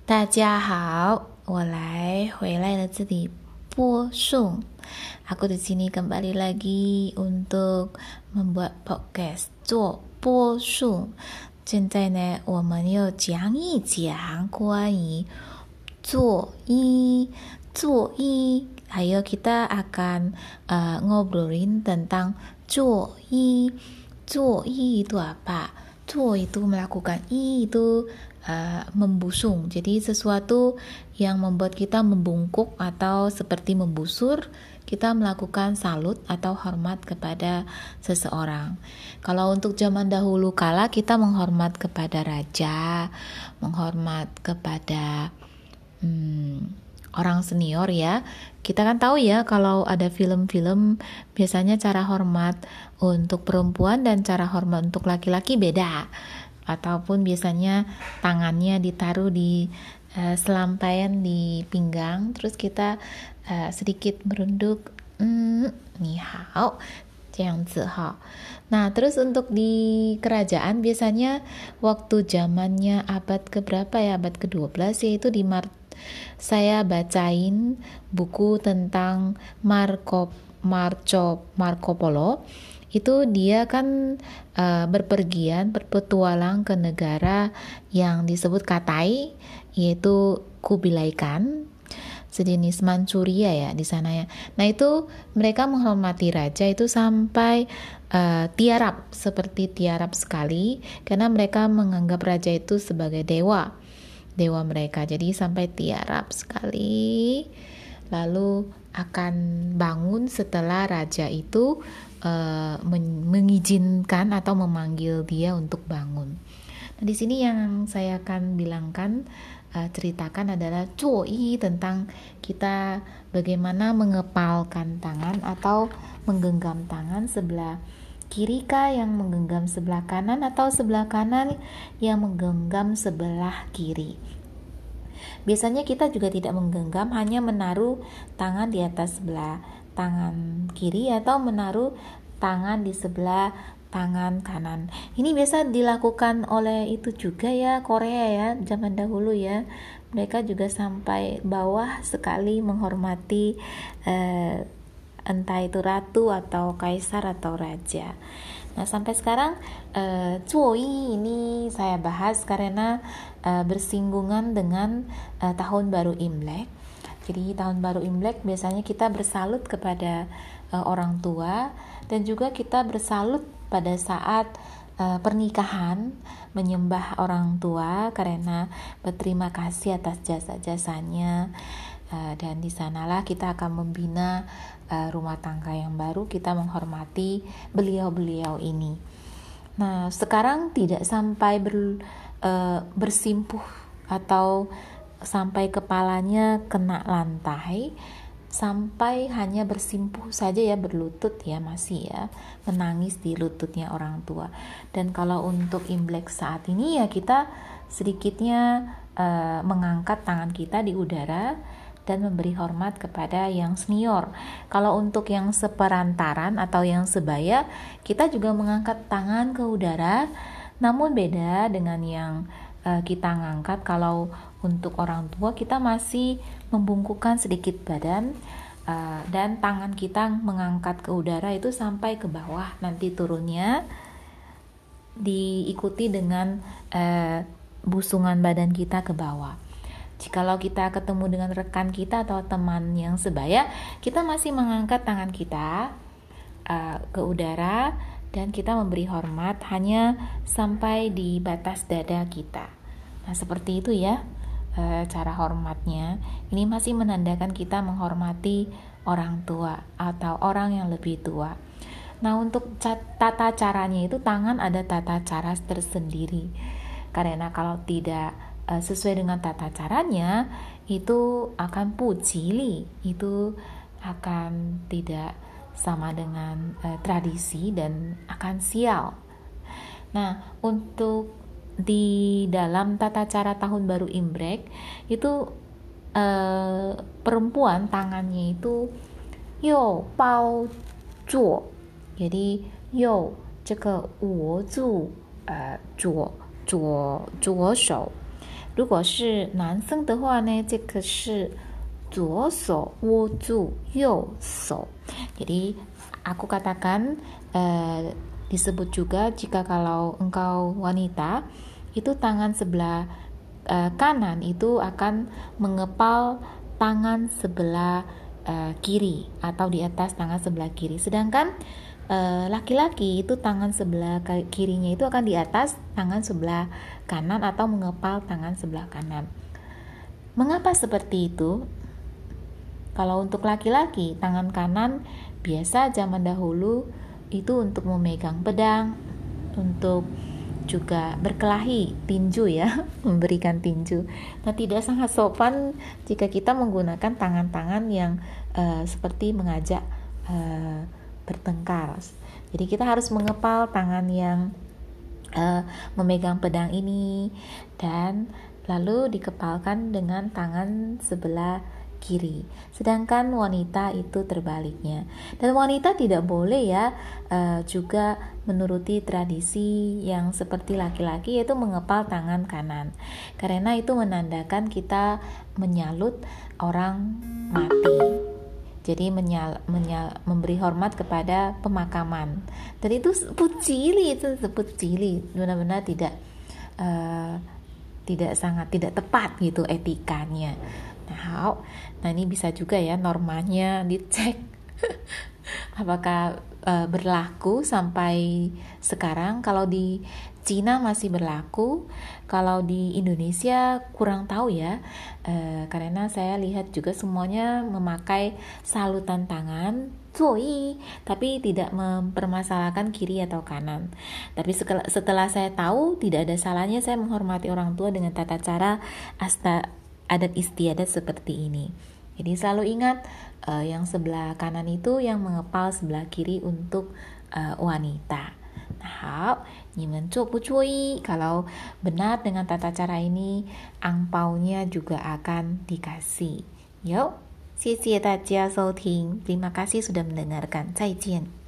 大家好，我回来了这里播送。Aku di sini kembali lagi untuk membuat podcast 做播送。现在呢，我们又讲一讲关于作揖，Ayo kita akan ngobrolin tentang 作揖。作揖 itu apa? 做 itu melakukan, 揖 itu membusung. Jadi sesuatu yang membuat kita membungkuk atau seperti membusur, kita melakukan salut atau hormat kepada seseorang. Kalau untuk zaman dahulu kala, kita menghormat kepada raja, menghormat kepada orang senior ya. Kita kan tahu ya, kalau ada film-film biasanya cara hormat untuk perempuan dan cara hormat untuk laki-laki beda. Ataupun biasanya tangannya ditaruh di selampaian di pinggang, terus kita sedikit merunduk, ni hao, 这样子哈. Nah, terus untuk di kerajaan biasanya waktu zamannya abad keberapa ya, abad ke-12 yaitu saya bacain buku tentang Marco Polo. Itu dia kan berpetualang ke negara yang disebut Katai, yaitu Kubilai Khan, sejenis Manchuria ya di sana ya. Nah itu mereka menghormati raja itu sampai tiarap, seperti tiarap sekali, karena mereka menganggap raja itu sebagai dewa mereka. Jadi sampai tiarap sekali, lalu akan bangun setelah raja itu mengizinkan atau memanggil dia untuk bangun. Nah, di sini yang saya akan ceritakan adalah 作揖, tentang kita bagaimana mengepalkan tangan atau menggenggam tangan, sebelah kiri kah yang menggenggam sebelah kanan atau sebelah kanan yang menggenggam sebelah kiri. Biasanya kita juga tidak menggenggam, hanya menaruh tangan di atas sebelah tangan kiri atau menaruh tangan di sebelah tangan kanan. Ini biasa dilakukan oleh itu juga ya, Korea ya, zaman dahulu ya. Mereka juga sampai bawah sekali menghormati entah itu ratu atau kaisar atau raja. Nah sampai sekarang 作揖 ini saya bahas karena bersinggungan dengan tahun baru Imlek. Jadi tahun baru Imlek biasanya kita bersalut kepada orang tua, dan juga kita bersalut pada saat pernikahan, menyembah orang tua karena berterima kasih atas jasa-jasanya, dan di sanalah kita akan membina rumah tangga yang baru, kita menghormati beliau-beliau ini. Nah sekarang tidak sampai bersimpuh atau sampai kepalanya kena lantai, sampai hanya bersimpuh saja ya, berlutut ya, masih ya, menangis di lututnya orang tua. Dan kalau untuk Imlek saat ini ya kita sedikitnya mengangkat tangan kita di udara dan memberi hormat kepada yang senior. Kalau untuk yang seperantaran atau yang sebaya, kita juga mengangkat tangan ke udara, namun beda dengan yang kita ngangkat. Kalau untuk orang tua kita masih membungkukkan sedikit badan, dan tangan kita mengangkat ke udara itu sampai ke bawah, nanti turunnya diikuti dengan busungan badan kita ke bawah. Jikalau kita ketemu dengan rekan kita atau teman yang sebaya, kita masih mengangkat tangan kita ke udara, dan kita memberi hormat hanya sampai di batas dada kita. Nah seperti itu ya cara hormatnya. Ini masih menandakan kita menghormati orang tua atau orang yang lebih tua. Nah untuk tata caranya itu, tangan ada tata cara tersendiri, karena kalau tidak sesuai dengan tata caranya itu akan pujili, itu akan tidak sama dengan tradisi dan akan sial. Nah untuk di dalam tata cara tahun baru Imlek itu perempuan tangannya itu yo bao zuo, jadi yo 这个我住左手， 如果是男生的话呢，这个是左手握住右手. Jadi aku katakan disebut juga jika kalau engkau wanita itu tangan sebelah kanan itu akan mengepal tangan sebelah kiri atau di atas tangan sebelah kiri. Sedangkan laki-laki itu tangan sebelah kirinya itu akan di atas tangan sebelah kanan atau mengepal tangan sebelah kanan. Mengapa seperti itu? Kalau untuk laki-laki, tangan kanan biasa zaman dahulu itu untuk memegang pedang, untuk juga berkelahi, tinju ya, memberikan tinju. Nah, tidak sangat sopan jika kita menggunakan tangan-tangan yang seperti mengajak bertengkar. Jadi kita harus mengepal tangan yang memegang pedang ini dan lalu dikepalkan dengan tangan sebelah kiri. Sedangkan wanita itu terbaliknya. Dan wanita tidak boleh ya juga menuruti tradisi yang seperti laki-laki, yaitu mengepal tangan kanan. Karena itu menandakan kita menyalut orang mati. Jadi memberi hormat kepada pemakaman. Dan itu pucili, itu disebut cili. Benar-benar tidak tepat gitu etikanya. Nah ini bisa juga ya normanya dicek apakah berlaku sampai sekarang. Kalau di Cina masih berlaku, kalau di Indonesia kurang tahu ya, karena saya lihat juga semuanya memakai salutan tangan, zoi, tapi tidak mempermasalahkan kiri atau kanan. Tapi setelah saya tahu tidak ada salahnya saya menghormati orang tua dengan tata cara adat istiadat seperti ini. Jadi selalu ingat yang sebelah kanan itu yang mengepal sebelah kiri untuk wanita. Nah, nyimen bu cuy, kalau benar dengan tata cara ini, angpaunya juga akan dikasih. Yuk, 谢谢大家收听. Terima kasih sudah mendengarkan. 再见.